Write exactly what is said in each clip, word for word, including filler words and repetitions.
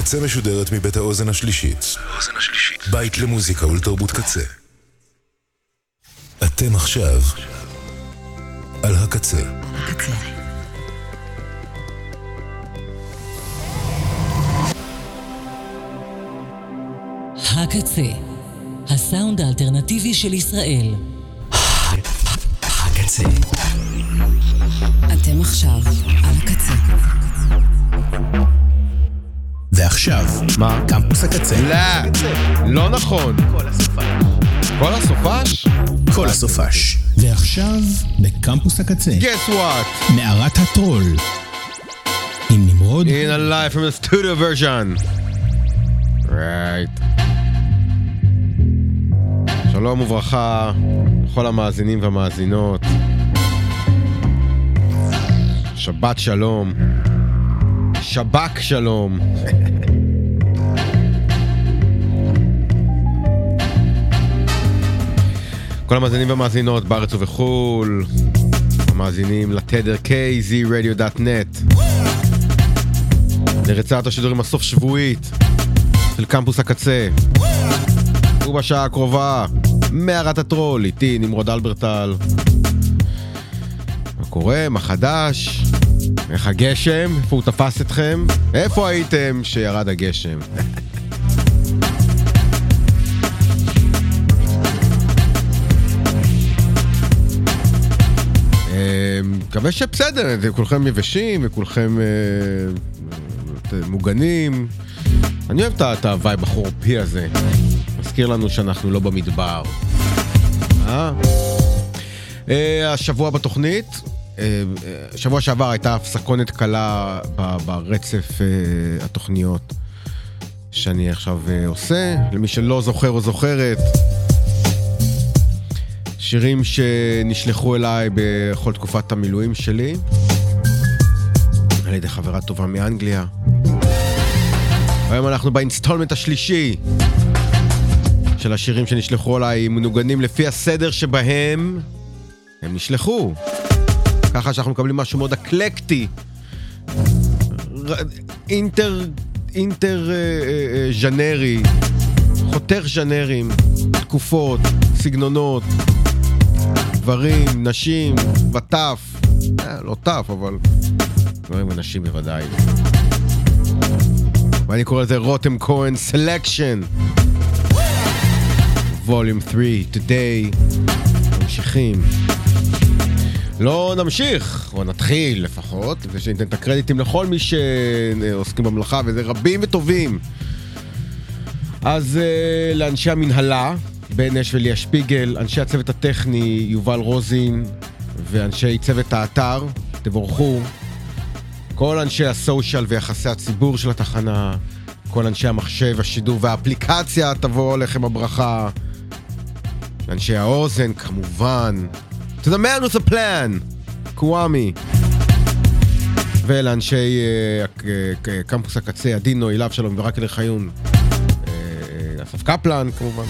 הקצה משודרת מבית האוזן השלישית. בית למוזיקה ולתרבות קצה. אתם עכשיו על הקצה. הקצה. הקצה, הסאונד האלטרנטיבי של ישראל. הקצה. אתם עכשיו על הקצה. ועכשיו, מה? קמפוס הקצה. לא, לא נכון. כל הסופש. כל הסופש? כל הסופש. ועכשיו, בקמפוס הקצה. Guess what? מערת הטרול. עם נמרוד. In a live from the studio version. Right. שלום וברכה לכל המאזינים והמאזינות. שבת שלום. שבק שלום. כל המאזינים והמאזינות בארץ ובחול, המאזינים לתדר קיי זי רדיו דוט נט, לרצועת השידורים הסוף שבועית של קמפוס הקצה. ובשעה הקרובה מערת הטרול, איתי נמרוד אלברטל. מה קורה? מה חדש? איך הגשם? איפה הוא תפס אתכם? איפה הייתם שירד הגשם? מקווה שבסדר, כולכם יבשים וכולכם מוגנים. אני אוהב את הווייב החורפי הזה. מזכיר לנו שאנחנו לא במדבר. אה? השבוע בתוכנית, שבוע שעבר הייתה הפסקונת קלה ברצף התוכניות שאני עכשיו עושה. למי שלא זוכר או זוכרת, שירים שנשלחו אליי בכל תקופת המילואים שלי על ידי חברה טובה מאנגליה. היום אנחנו באינסטולמנט השלישי של השירים שנשלחו אליי, מנוגנים לפי הסדר שבהם הם נשלחו, ככה שאנחנו מקבלים משהו מאוד אקלקטי, אינטר אינטר ז'נרי, חותך ז'נרים, תקופות, סגנונות, גברים, נשים, וטף, אה, לא טף, אבל גברים ונשים בוודאי. ואני קורא לזה רותם כהן סלקשן ווליום שלוש. today ממשיכים. לא נמשיך, או נתחיל לפחות, ושניתן את הקרדיטים לכל מי שעוסקים במלאכה, וזה רבים וטובים. אז uh, לאנשי המנהלה בן אש וליה שפיגל, אנשי הצוות הטכני יובל רוזין, ואנשי צוות האתר, תבורכו. כל אנשי הסושיאל ויחסי הציבור של התחנה, כל אנשי המחשב, השידור והאפליקציה, תבוא לכם הברכה. אנשי האוזן, כמובן. To the man with a plan, קוואמי. ולאנשי uh, uh, קמפוס הקצה, עדינו, אילב שלום ורק אלי חיון. Uh, אסף קפלן, כמובן.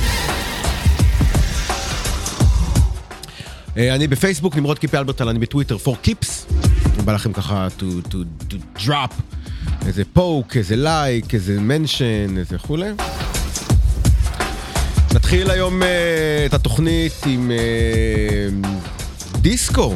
Uh, אני בפייסבוק, נמרוד קיפי אלברטל, אני בטוויטר, for keeps. אני בא לכם ככה to, to, to drop איזה פוק, איזה לייק, איזה מנשן, איזה חולה. נתחיל היום uh, את התוכנית עם uh, דיסקו.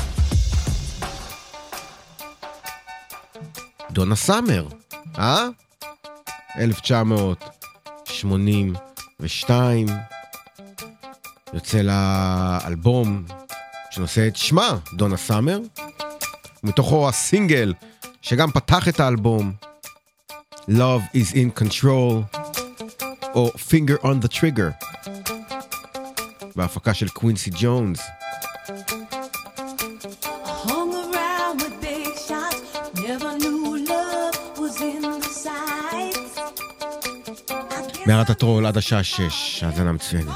דונה סאמר, אה? אלף תשע מאות שמונים ושתיים. יוצא לאלבום שנושא את שמה, דונה סאמר. מתוכו הסינגל שגם פתח את האלבום, Love is in Control, או Finger on the Trigger, בהפקה של קווינסי ג'ונס. מערת הטרול עד השעה שש, האזנה מצוינת.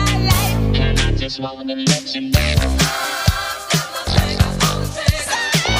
Just wanna let you know.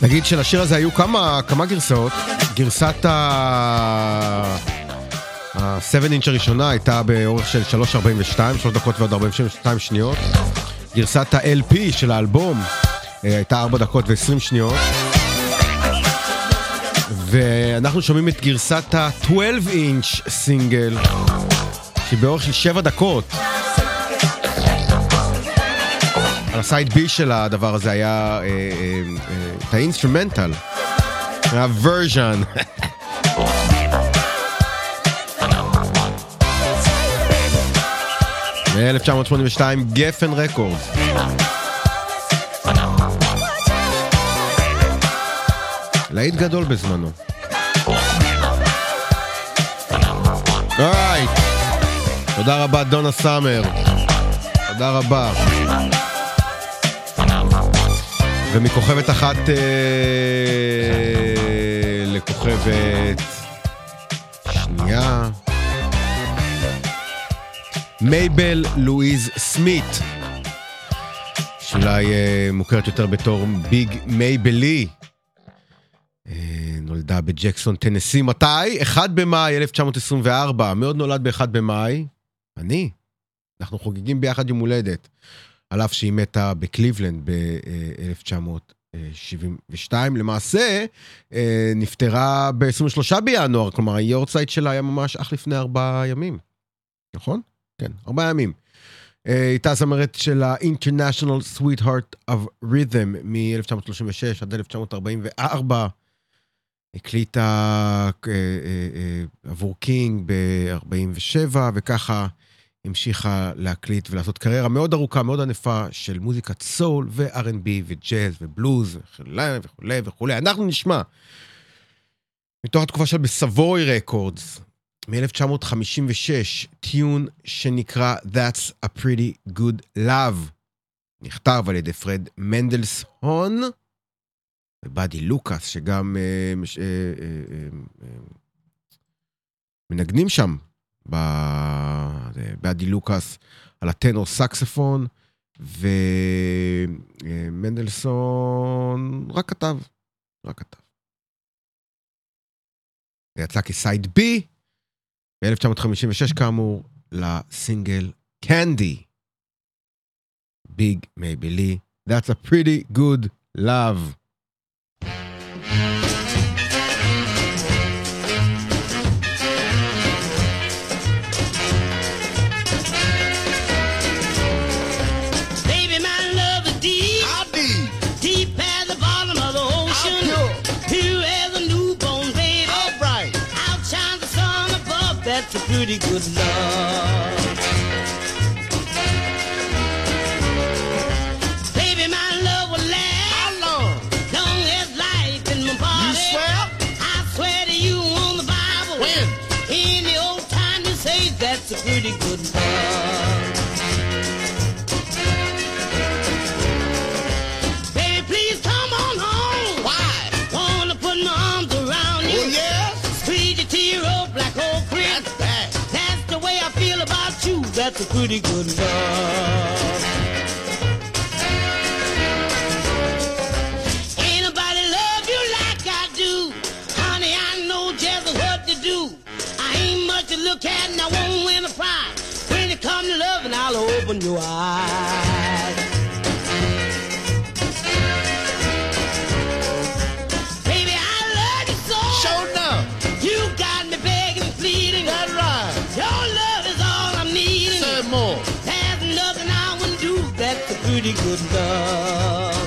נגיד שלשיר הזה היו כמה, כמה גרסאות. גרסת ה-שבע אינץ' הראשונה הייתה באורך של שלוש ארבעים ושתיים, שלוש דקות ועוד ארבעים ושתיים שניות. גרסת ה-אל פי של האלבום הייתה ארבע דקות ועשרים שניות. ואנחנו שומעים את גרסת ה-שתים עשרה אינץ' סינגל, שהיא באורך של שבע דקות. על הסייד בי של הדבר הזה היה את האינסטרומנטל, היה ורז'ן. ב-אלף תשע מאות שמונים ושתיים, גפן רקורדס. להיט גדול בזמנו. אורייט. תודה רבה דונה סאמר. תודה רבה. ומכוכבת אחת אה, לכוכבת שנייה. מייבל לואיז סמית, שאולי אה, מוכרת יותר בתור ביג מייבלי. נולדה בג'קסון, טנסי. מתי? אחד במאי אלף תשע מאות עשרים וארבע. מאוד נולד באחד במאי. אני. אנחנו חוגגים ביחד יום הולדת. על אף שהיא מתה בקליבלנד ב-אלף תשע מאות שבעים ושתיים. למעשה, נפטרה ב-עשרים ושלושה בינואר. כלומר, היורצייט שלה היה ממש אך לפני ארבעה ימים. נכון? כן, ארבעה ימים. הייתה זמרת של ה-International Sweetheart of Rhythm מ-אלף תשע מאות שלושים ושש עד אלף תשע מאות ארבעים וארבע. הקליטה עבור קינג ב-ארבעים ושבע, וככה המשיכה להקליט ולעשות קריירה מאוד ארוכה, מאוד ענפה של מוזיקת סול ו-אר אנד בי וג'אז ובלוז וכולי וכולי וכולי. אנחנו נשמע מתוך התקופה של בסבוי רקורדס, מ-אלף תשע מאות חמישים ושש, טיון שנקרא That's a Pretty Good Love, נכתב על ידי פרד מנדלסון ובאדי לוקאס, שגם אה, אה, אה, אה, מנגנים שם, באדי לוקאס על הטנור סקספון, ומנדלסון רק כתב, רק כתב. זה יצא כסייד בי, ב-אלף תשע מאות חמישים ושש כאמור, לסינגל קנדי. ביג מייבלי, That's a Pretty Good Love. Pretty good love. Baby, my love will last. How long? Long as life in my body. You swear? I swear to you on the Bible. When? In the old time you say that's a pretty good love. Baby, please come on home. Why? Wanna put my arms around you. Oh, yeah? Squeeze your tear up like old cream. That's a pretty good love. Ain't nobody love you like I do. Honey, I know just what to do. I ain't much to look at and I won't win a prize. When it comes to loving, I'll open your eyes. Baby, I love you so. Show enough. You got me begging and pleading. That's right. Your love is all I'm needing. Say more. There's nothing I wouldn't do. That's a pretty good love.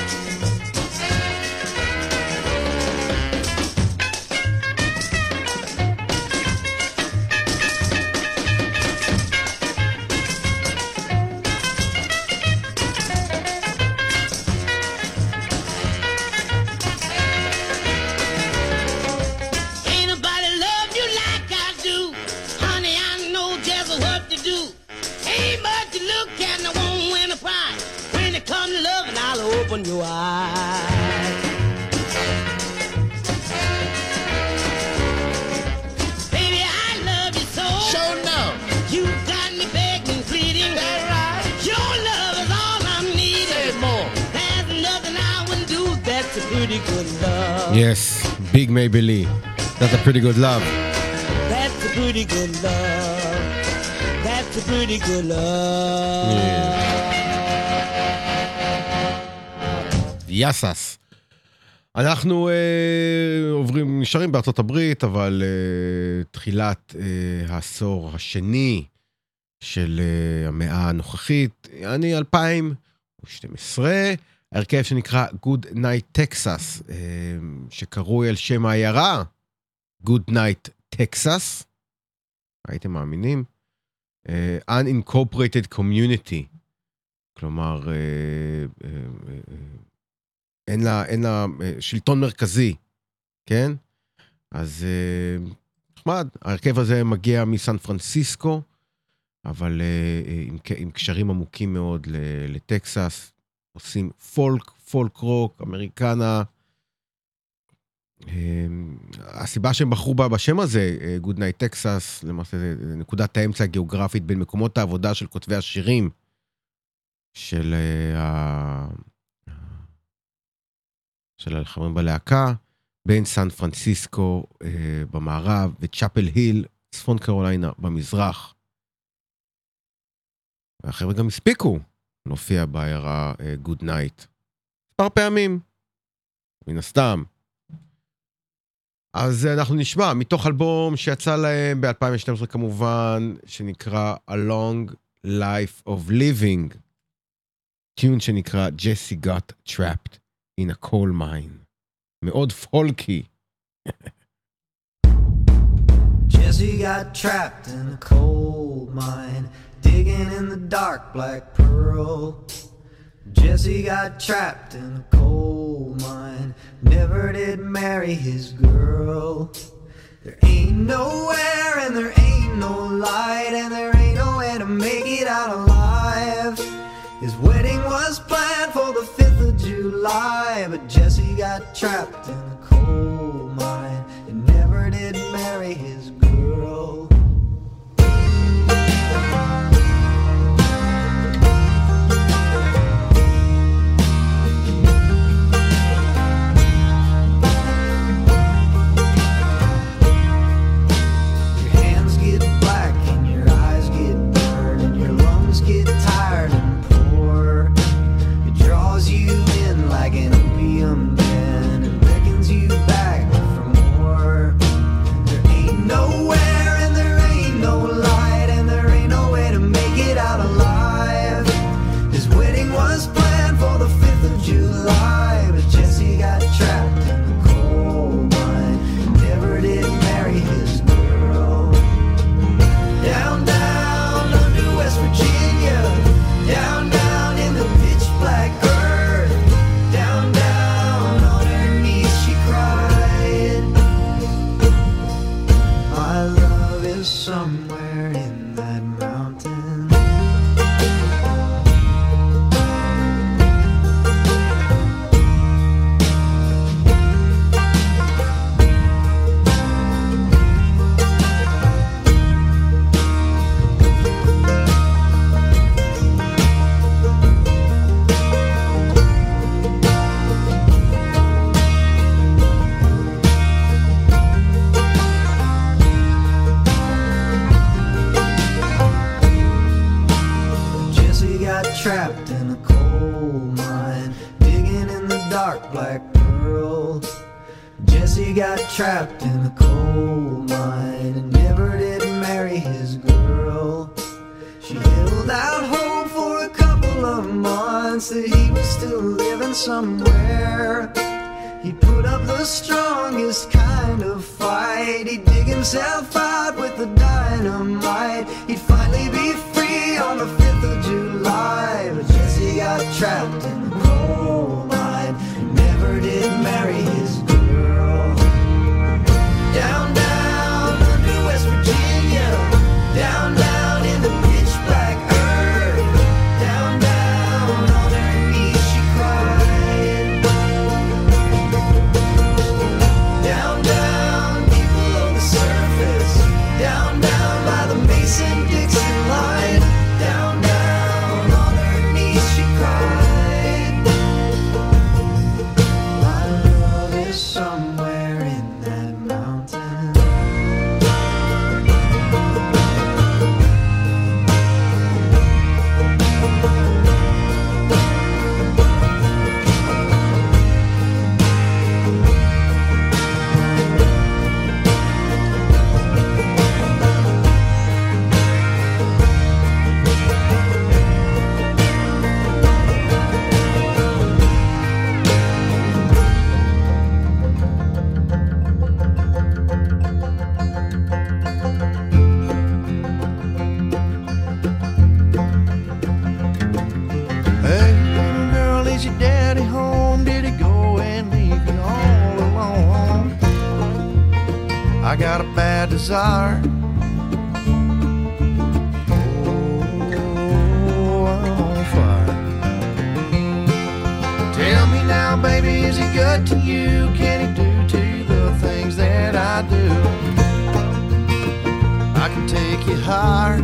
Open your eyes. Baby, I love you so. Show now. You got me begging, pleading. That's right. Your love is all I'm needing. Say more. There's nothing I wouldn't do. That's a pretty good Yes, Big Maybelline. That's a pretty good love. That's a pretty good love. That's a pretty good love. יסס. אנחנו uh, עוברים, נשארים בארצות הברית, אבל uh, תחילת uh, העשור השני של uh, המאה הנוכחית, אני אלפיים ושתים עשרה, הרכב שנקרא Good Night Texas, uh, שקרוי על שם העיירה, Good Night Texas, הייתם מאמינים? Uh, Unincorporated Community, כלומר, uh, uh, uh, אין לה, אין לה שלטון מרכזי, כן? אז נחמד, ההרכב הזה מגיע מסן פרנסיסקו, אבל עם, עם קשרים עמוקים מאוד לטקסס, עושים פולק, פולק רוק, אמריקנה. הסיבה שהם בחרו בה בשם הזה, Good Night Texas, למעשה זה נקודת האמצע הגיאוגרפית בין מקומות העבודה של כותבי השירים, של ה... של החברים בלהקה, בין סן פרנסיסקו אה, במערב, וצ'אפל היל, צפון קרוליינה, במזרח. והחבר'ה גם הספיקו להופיע בעיירה אה, Good Night. מספר פעמים, מן הסתם. אז אנחנו נשמע, מתוך אלבום שיצא להם ב-אלפיים ושתים עשרה כמובן, שנקרא A Long Life of Living, טיון שנקרא Jesse Got Trapped in a coal mine. מאוד פולקי. Jesse got trapped in a coal mine, digging in the dark black pearl. Jesse got trapped in a coal mine, never did marry his girl. There ain't nowhere and there ain't no light, and there ain't no way to make it out alive. His wedding was planned for the fifth of July, but Jesse got trapped in a coal mine and never did marry his girl. Your hands get black and your eyes get burned and your lungs get tired and draws you in like an opium den and beckons you back for more. There ain't nowhere and there ain't no light, and there ain't no way to make it out alive. His wedding was planned for the fifth of July, but Jesse got trapped in a coal mine and never did marry his girl. Down, down under West Virginia, down, down in the pitch black earth, down, down on her knees she cried. My love is somewhere in that mountain. Trapped in a coal mine, digging in the dark black pearl. Jesse got trapped in a coal mine and never did marry his girl. She held out hope for a couple of months that he was still living somewhere. He'd put up the strongest kind of fight. He'd dig himself out with the dynamite. He'd finally be free on the fifth of July, but Jesse got trapped in a coal mine and never did marry his girl. Down, down under West Virginia, down, down in the pitch black earth, down, down on her knees she cried. Down, down deep below the surface, down, down by the I got a bad desire. Oh, I'm on fire. Tell me now, baby, is he good to you? Can he do to the things that I do? I can take you higher.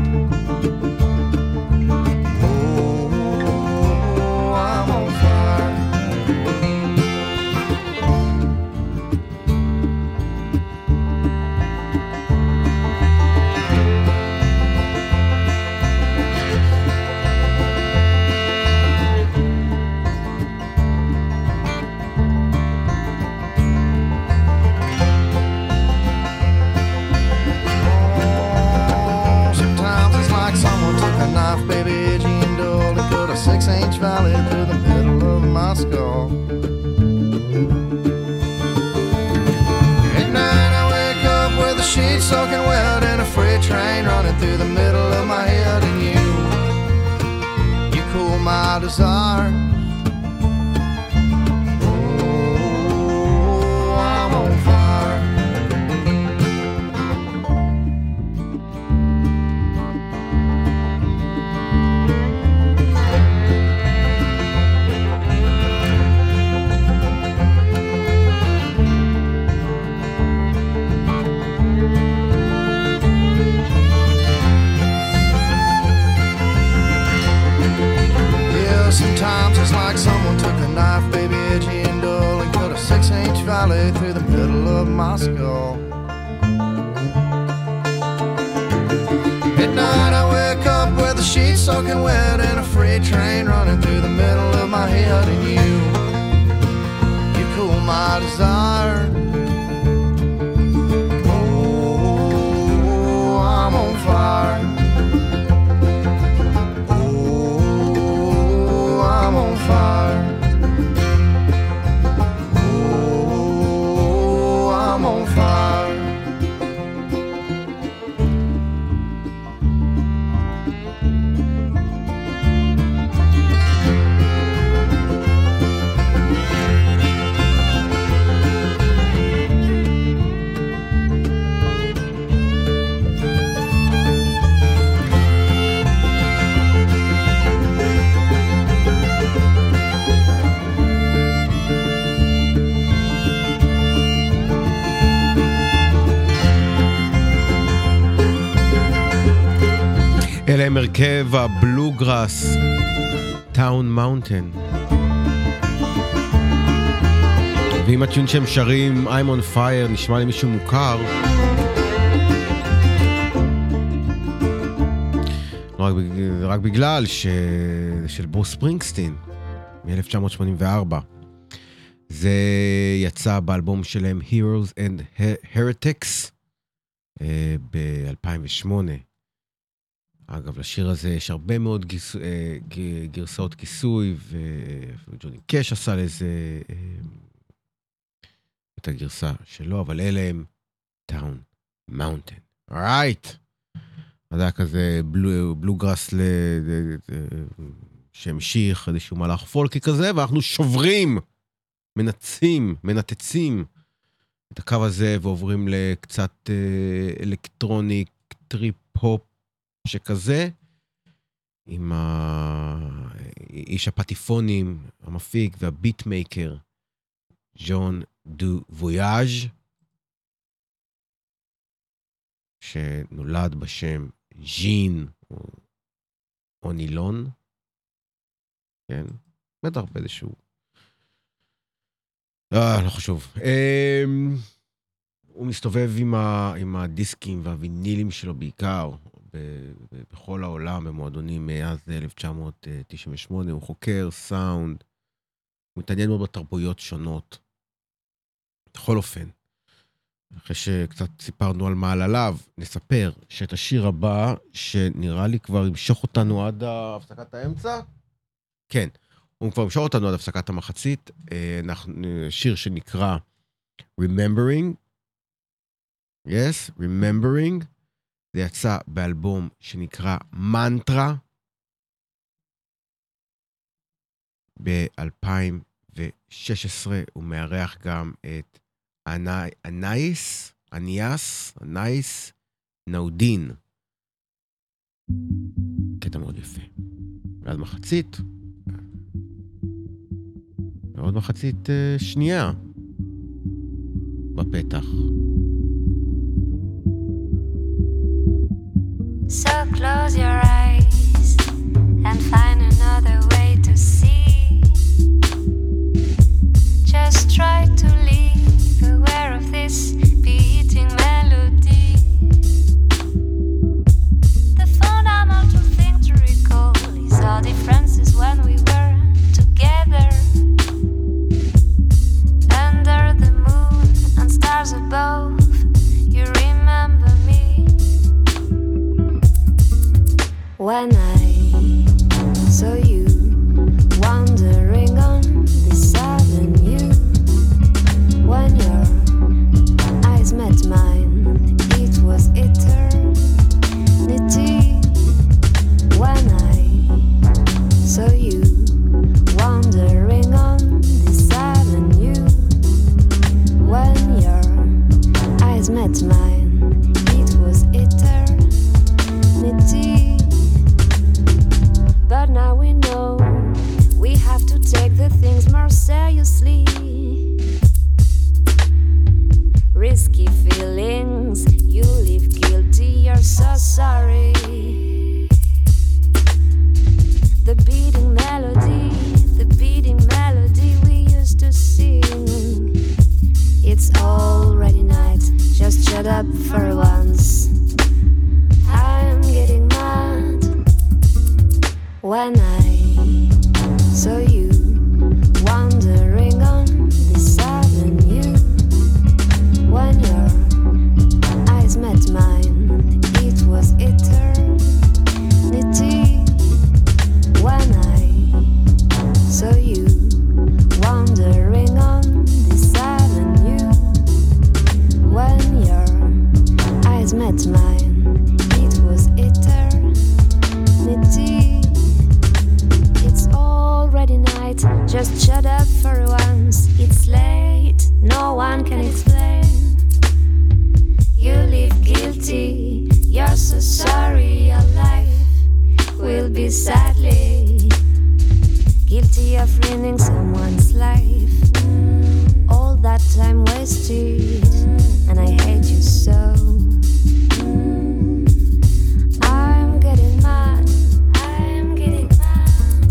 Six-inch valley through the middle of my skull. At night I wake up with the sheets soaking wet and a freight train running through the middle of my head. And you, you cool my desire. Oh, I'm on fire. Sometimes it's like someone took a knife, baby, edgy and dull, and cut a six-inch valley through the middle of my skull. At night I wake up with the sheets soaking wet and a freight train running through the middle of my head. And you, you cool my desire. Oh, I'm on fire. I'm on fire. Oh, I'm on fire. אלה הם הרכב הבלוגראס, טאון מאונטן. ואם הטיון שהם שרים I'm on fire נשמע לי מישהו מוכר, רק, רק בגלל ש... של ברוס ספרינגסטין מ-אלף תשע מאות שמונים וארבע. זה יצא באלבום שלהם Heroes and Heretics ב-אלפיים ושמונה. אגב, לשיר הזה יש הרבה מאוד גיס... גרסאות כיסוי, וג'וני קש עשה לזה את הגרסה שלו, אבל אלה הם טאון מאונטן. אורייט. זה היה כזה בלו, בלוגראס ל... שהמשיך איזשהו מהלך פולקי כזה, ואנחנו שוברים, מנצים, מנתצים את הקו הזה, ועוברים לקצת אלקטרוניק, טריפ-הופ, שכזה, עם האיש הפטיפונים, המפיק והביטמייקר, ז'אן דו וויאז', שנולד בשם ז'ין או נילון, כן, בטח באיזשהו, לא, לא חשוב. הוא מסתובב עם, ה, עם הדיסקים והווינילים שלו בעיקר, בכל העולם, במועדונים מאז אלף תשע מאות תשעים ושמונה, הוא חוקר סאונד, הוא מתעניין מאוד בתרבויות שונות. בכל אופן, אחרי שקצת סיפרנו על מעל עליו, נספר שאת השיר הבא, שנראה לי כבר ימשוך אותנו עד הפסקת האמצע, כן, הוא כבר ימשוך אותנו עד הפסקת המחצית, שיר שנקרא Remembering, yes, Remembering, זה יצא באלבום שנקרא מנטרה ב-אלפיים ושש עשרה, הוא מארח גם את אנאיס, אניאס, נייס, נאודין. קטע מאוד יפה. ועד מחצית. ועוד מחצית uh, שנייה. בפתח. So close your eyes and find another way to see. Just try to live aware of this beating melody. The fundamental thing to recall is our differences when we were together. Under the moon and stars above, you remember me. When I saw you wandering on this avenue, when your eyes met mine, it was eternity. When I saw you wandering on this avenue, when your eyes met mine, it was eternity. But now we know we have to take the things more seriously. Risky feelings, you live guilty, you're so sorry. The beating melody, the beating melody we used to sing. It's already night, just shut up for once. I'm getting mad. When I saw you wandering on this avenue, when your eyes met mine, it was eternity. When I saw you wandering on this avenue, when your eyes met mine, it was eternity. It's already night, just shut up for once. It's late, no one can explain. You live guilty, you're so sorry. Your life will be sadly guilty of ruining someone's life. All that time wasted, and I hate you so. I'm getting mad, I'm getting mad.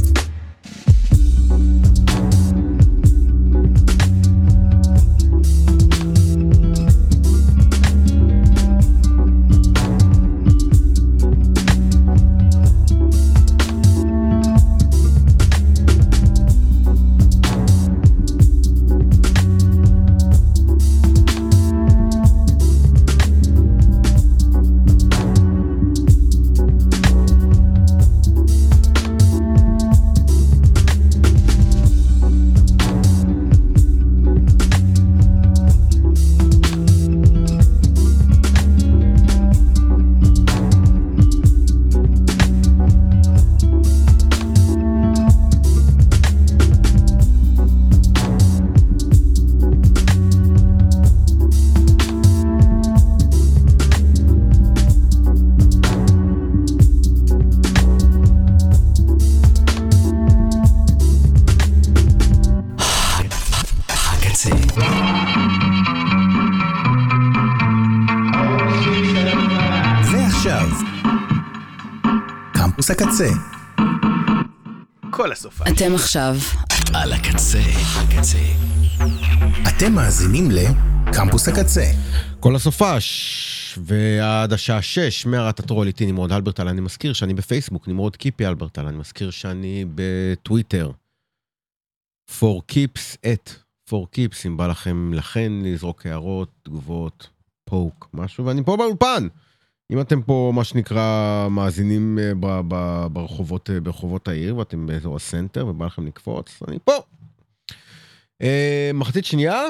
ועכשיו, קמפוס הקצה. כל הסופה. אתם עכשיו על הקצה, הקצה. אתם מאזינים לקמפוס הקצה. כל הסופש, ועד השעה שש, מערת הטרול איתי נמרוד אלברטל. אני מזכיר שאני בפייסבוק, נמרוד קיפי אלברטל. אני מזכיר שאני בטוויטר. for keeps at for keeps, אם בא לכם לכן לזרוק הערות, תגובות, פוק, משהו, ואני פה באולפן. אם אתם פה, מה שנקרא, מאזינים ב- ב- ברחובות, ברחובות העיר, ואתם באזור הסנטר, ובא לכם לקפוץ, אני פה. אה, מחצית שנייה,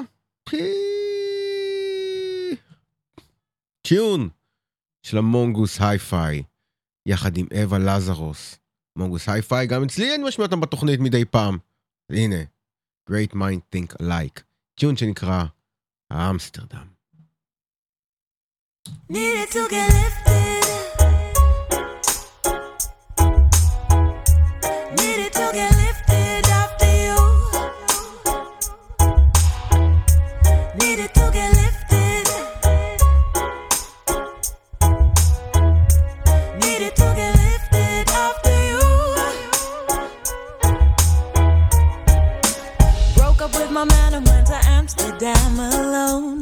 טיון של המונגוס היי-פיי, יחד עם אווה לזרוס. מונגוס היי-פיי, גם אצלי אני משמיע אותם בתוכנית מדי פעם. הנה, Great Mind Think Alike, טיון שנקרא האמסטרדם. Needed to get lifted. Needed to get lifted after you. Needed to get lifted. Needed to get lifted after you. Broke up with my man and went to Amsterdam alone.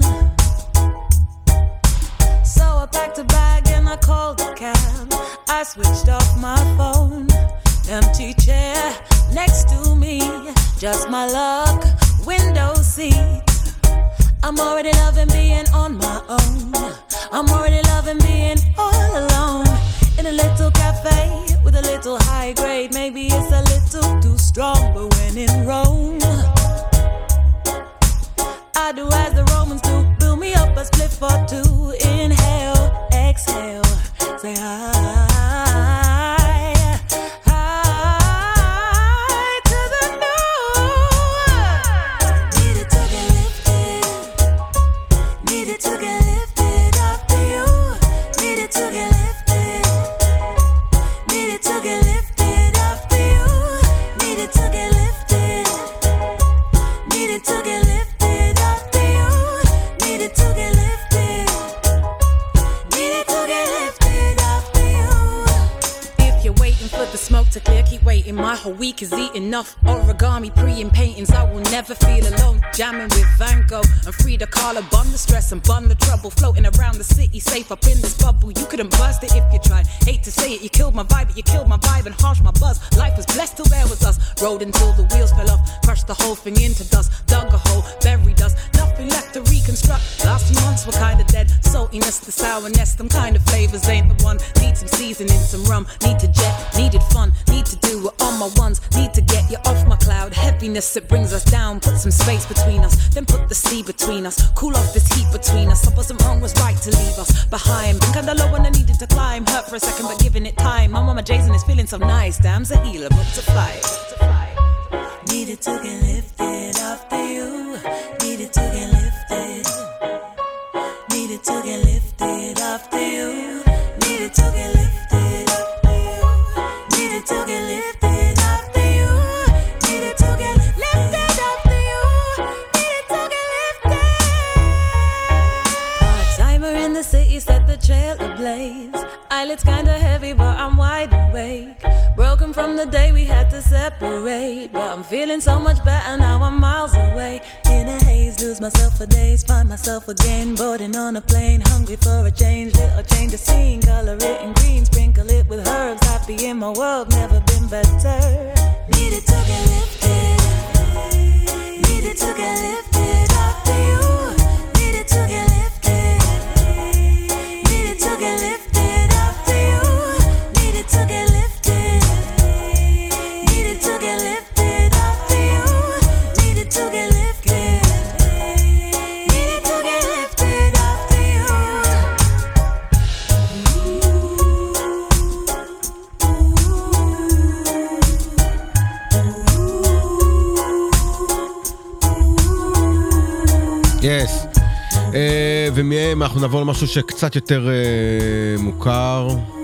I packed a bag and I called a cab. I switched off my phone. Empty chair next to me. Just my luck, window seat. I'm already loving being on my own. I'm already loving being all alone. In a little cafe with a little high grade. Maybe it's a little too strong, but when in Rome, I do as the Romans do. Build me up a split for two. Inhale, exhale, say hi, hi to the new. Needed to get lifted. Needed to get lifted after you. Needed to get lifted. Needed to get lifted after you. Needed to get lifted. Needed to get lifted. The smoke to clear, keep waiting. My whole week is eating enough origami, pre and paintings. I will never feel alone. Jamming with Van Gogh and Frida Kahlo. Bun the stress and bun the trouble. Floating around the city, safe up in this bubble. You couldn't burst it if you tried. Hate to say it, you killed my vibe, but you killed my vibe and harsh my buzz. Life was blessed till there was us. Rode until the wheels fell off. Crushed the whole thing into dust. Dug a hole, buried us. Nothing left to reconstruct. Last few months were kinda dead. Saltiness, the sourness, them kind of flavors ain't the one. Need some seasoning, some rum. Need to jet, needed fun. Need to do it on my ones. Need to get you off my cloud. Heaviness, it brings us down. Put some space between us. Then put the sea between us. Cool off this heat between us. I wasn't wrong, was right to leave us behind. Been kinda low when I needed to climb. Hurt for a second, but giving it time. My mama Jason is feeling so nice. Damn's a healer, booked to fly. Needed to get lifted after you. Needed to get lifted. Needed to get lifted after you. Needed to get lifted after you. Needed to get lifted after you. Needed to get lifted after you. Needed to get lifted. Part timer in the city set the trail ablaze. Eyelids kinda heavy, but I'm wide awake. Broken from the day we had to separate, but I'm feeling so much better now. I'm miles away. In a haze, lose myself for days, find myself again. Boarding on a plane, hungry for a change. Little change of scene, color it in green, sprinkle it with herbs. Happy in my world, never been better. Needed to get lifted. Needed to get lifted after you. Needed to get lifted. Needed to get lifted after you. Needed to get lifted. Needed to get lifted after you. Needed to get lifted. Needed to get lifted after you. Yes. אה, ומהם אנחנו נעבור למשהו שקצת יותר אה, מוכר.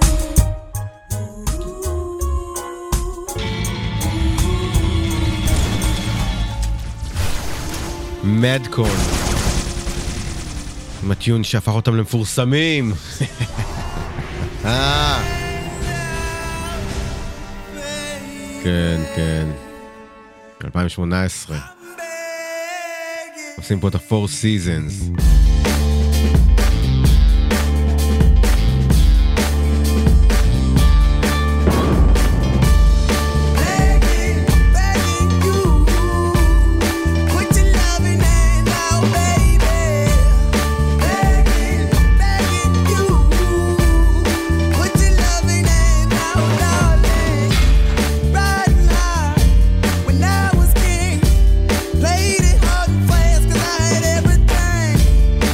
מדקון. עם הטיון שהפך אותם למפורסמים. אה. כן, כן. אלפיים שמונה עשרה. עושים פה את ה-Four Seasons. Played it hard and fast 'cause I had everything.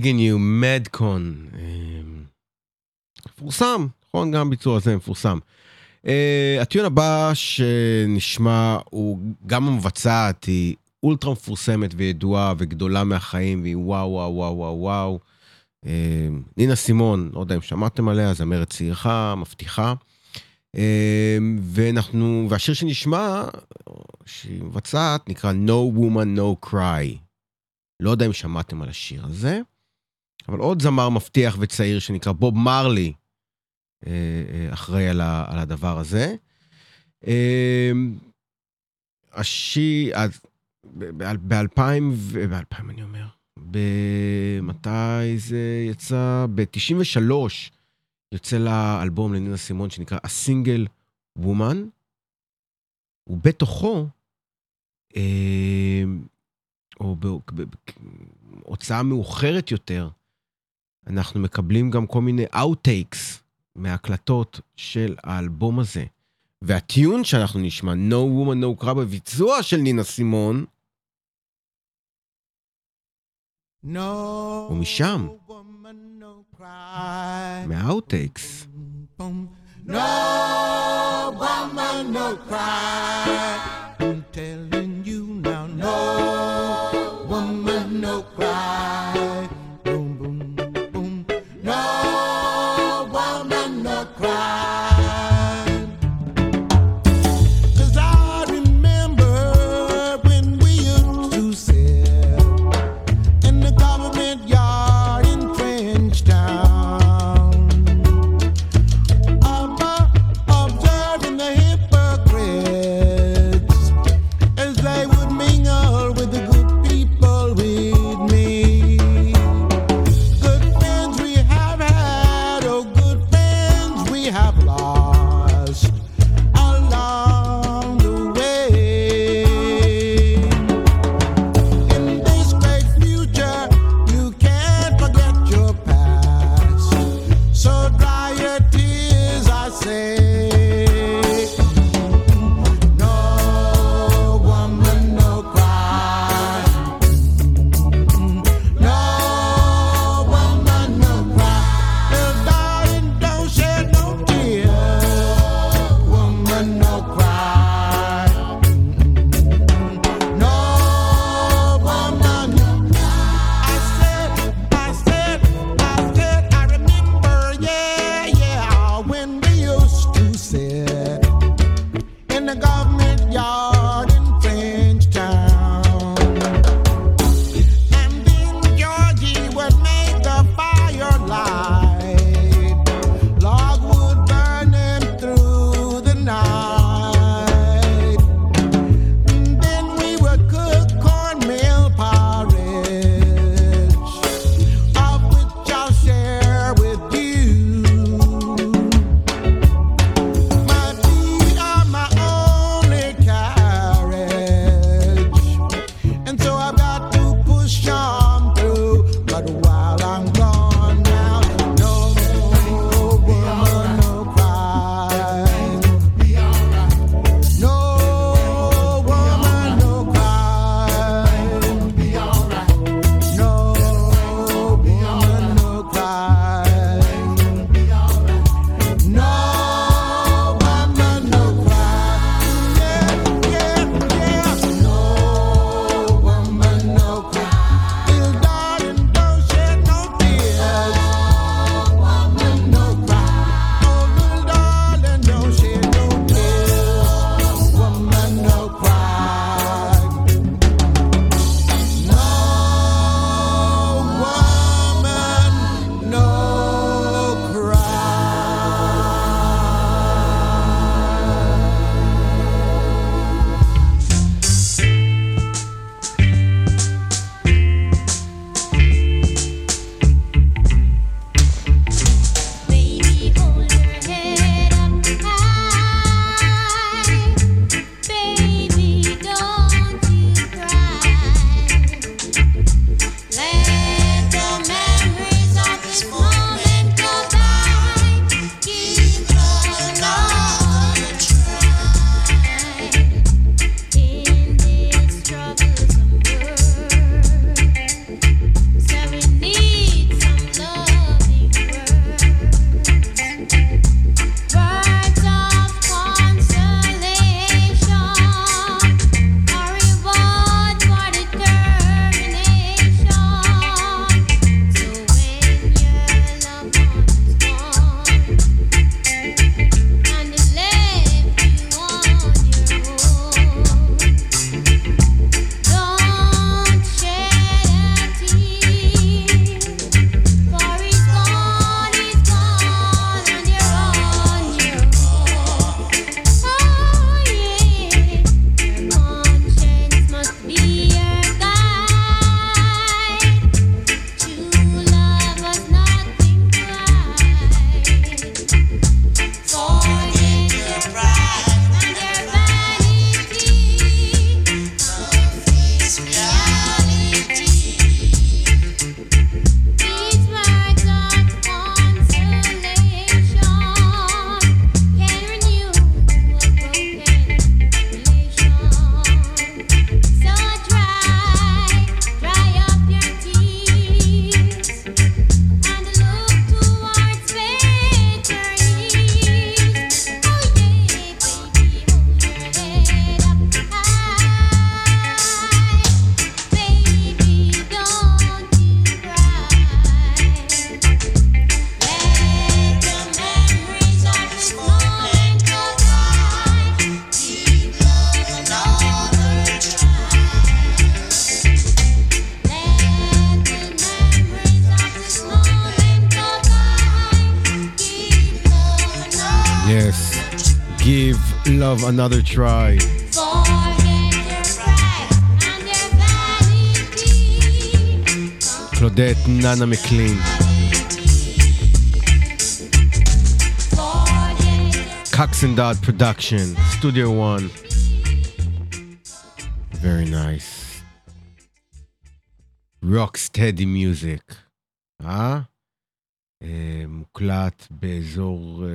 Digging You, מדקון. מפורסם, נכון? גם ביצוע הזה מפורסם. הטיון הבא שנשמע הוא גם המבצעת, היא אולטרה מפורסמת וידועה וגדולה מהחיים, והיא וואו וואו וואו וואו וואו. נינה סימון, לא יודע אם שמעתם עליה, זמרת צעירה, מבטיחה. ואנחנו, והשיר שנשמע, שהיא מבצעת, נקרא No Woman No Cry. לא יודע אם שמעתם על השיר הזה, אבל עוד זמר מבטיח וצעיר שנקרא בוב מרלי, אחראי על, ה, על הדבר הזה. השיר, ב-אלפיים, ב-אלפיים אני אומר, במתי זה יצא? ב-תשעים ושלוש יוצא לאלבום לנינה סימון שנקרא A Single Woman, ובתוכו, או בהוצאה מאוחרת יותר, אנחנו מקבלים גם כל מיני outtakes מההקלטות של האלבום הזה. והטיון שאנחנו נשמע, No Woman No Cry, בביצוע של נינה סימון, No ומשם, woman, no cry. מהאוטטייקס. No woman, no cry. I'm telling you now, no woman, no cry. Boom, boom, boom. No woman, no cry. 'Cause I remember when we used to sit in the government yard in French Town. I'm observing the hypocrites as they would mingle with the good people with me. Good friends we have had, oh good friends we have lost along the way. In this great future, you can't forget your past. Yes, give love another try. קלודט ננה מקלין. Coxendot Production, Studio One. Very nice. Rocksteady Music. אה? מוקלט באזור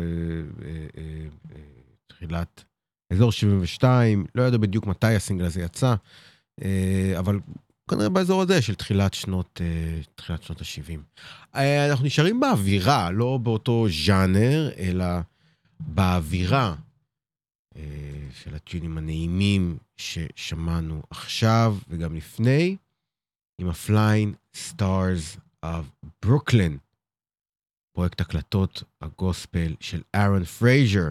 תחילת אזור שבעים ושתיים, לא יודע בדיוק מתי הסינגל הזה יצא, אבל כנראה באזור הזה של תחילת שנות תחילת שנות ה-שבעים. אנחנו נשארים באווירה, לא באותו ז'אנר, אלא באווירה של הטיונים הנעימים ששמענו עכשיו וגם לפני, עם ה-Flying Stars of Brooklyn, פרויקט הקלטות הגוספל של ארון פרייזר.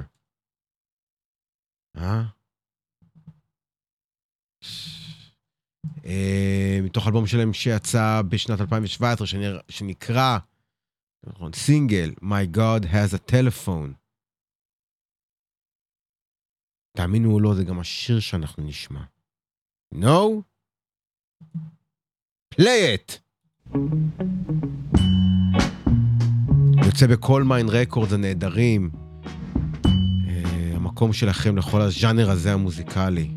אה? מתוך אלבום שלהם שיצא בשנת אלפיים שבע עשרה, שנקרא סינגל My God Has a Telephone. תאמינו או לא, זה גם השיר שאנחנו נשמע. No? Play it! יוצא בכל מיין רקורד הנהדרים. המקום שלכם לכל הז'אנר הזה המוזיקלי.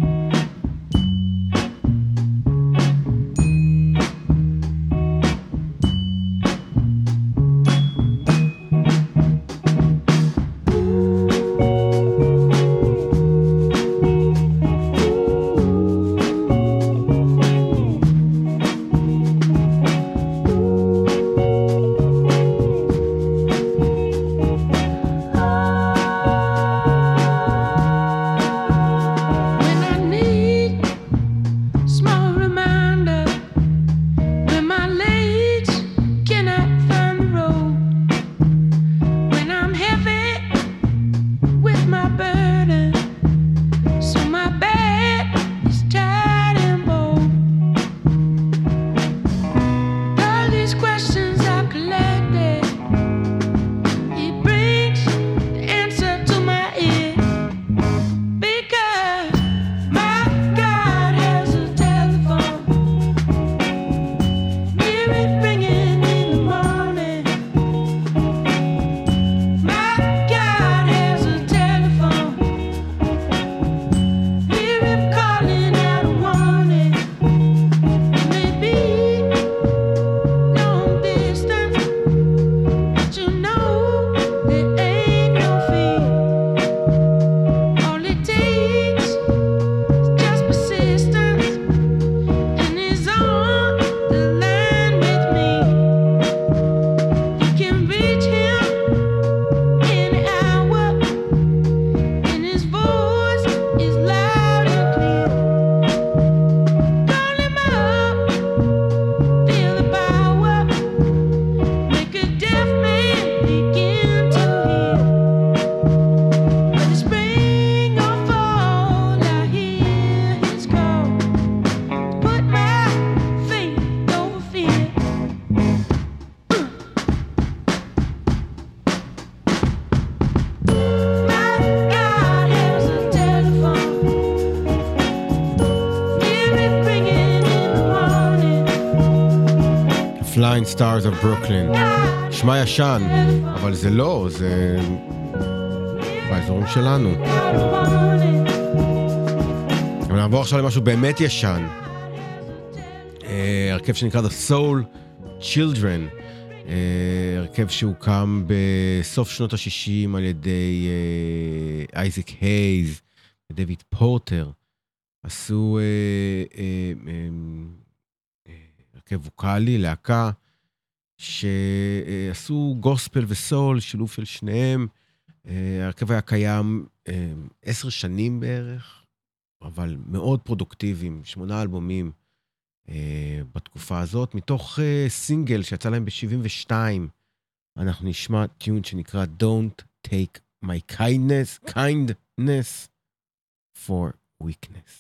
Flying Stars of Brooklyn. שמה ישן, אבל זה לא, זה באזורים שלנו. אבל נעבור עכשיו למשהו באמת ישן. הרכב שנקרא The Soul Children. הרכב שהוקם בסוף שנות ה-שישים על ידי אייזק הייז ודויד פורטר. עשו הרכב ווקלי, להקה, שעשו גוספל וסול, שילוב של שניהם. הרכב היה קיים עשר שנים בערך, אבל מאוד פרודוקטיביים, שמונה אלבומים בתקופה הזאת. מתוך סינגל שיצא להם ב-שבעים ושתיים, אנחנו נשמע טיון שנקרא Don't Take My Kindness, Kindness for Weakness.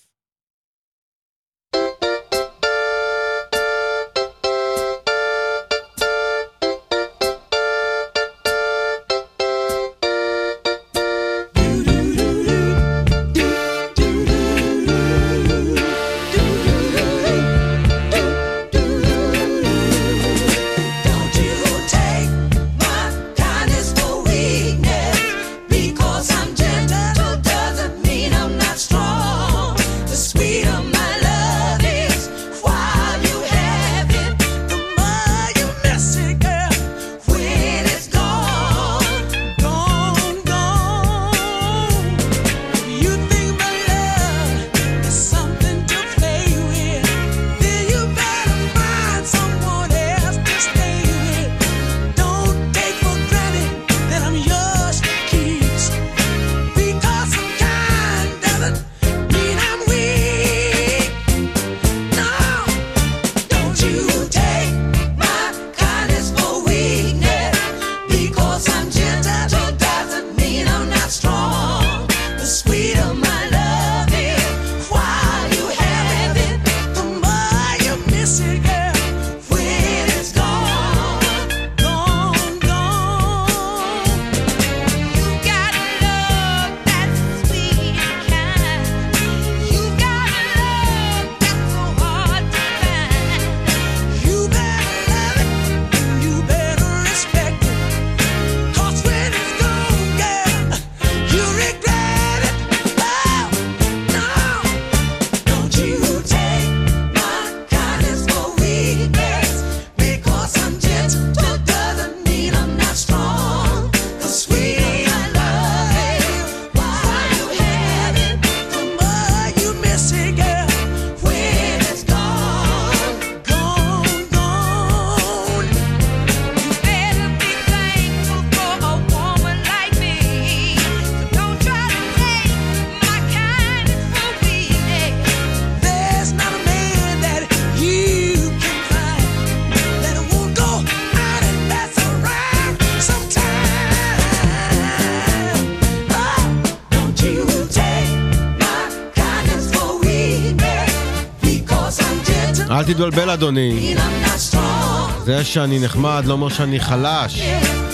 אל תתבלבל אדוני, זה שאני נחמד לא אומר שאני חלש.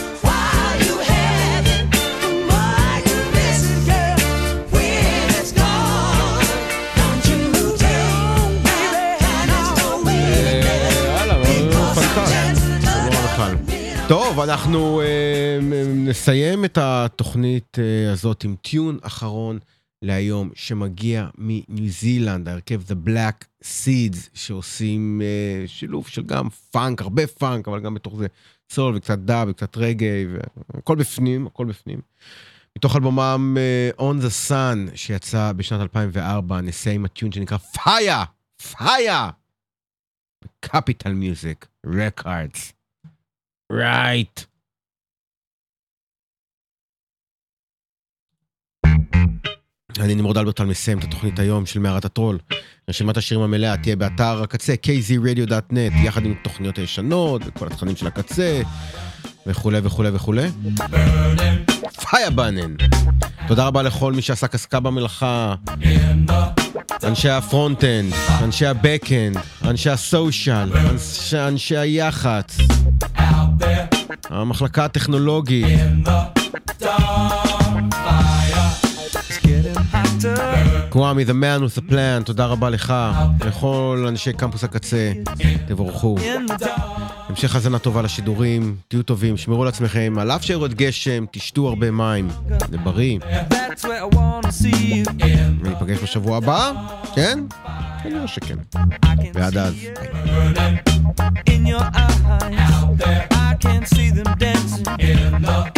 טוב, אנחנו uh, נסיים את התוכנית uh, הזאת עם טיון אחרון להיום שמגיע מניו זילנד, הרכב The Black Seeds, שעושים uh, שילוב של גם פאנק, הרבה פאנק, אבל גם בתוך זה סול וקצת דאב וקצת רגעי, והכל בפנים, הכל בפנים. מתוך אלבומם uh, On the Sun שיצא בשנת אלפיים וארבע, נסיים עם הטיון שנקרא Fire! Fire! Capital Music Records. Right. אני נמרוד אלברטל מסיים את התוכנית היום של מערת הטרול. רשימת השירים המלאה תהיה באתר הקצה קיי זי רדיו דוט נט, יחד עם תוכניות הישנות וכל התכנים של הקצה וכו' וכו' וכו'. פייר בנן. תודה רבה לכל מי שעסק עסקה במלאכה, אנשי הפרונט-אנד, אנשי הבק-אנד, אנשי הסושיאל, אנשי, אנשי היח"צ, המחלקה הטכנולוגית, קוואמי, the man with the plan, תודה רבה לך, לכל אנשי קמפוס הקצה, תבורכו. המשך הזנה טובה לשידורים, תהיו טובים, שמרו לעצמכם, על אף שיורד גשם, תשתו הרבה מים, זה בריא. וניפגש בשבוע הבא, כן? אני רואה שכן. ועד אז. In your eyes, I can see them dancing in the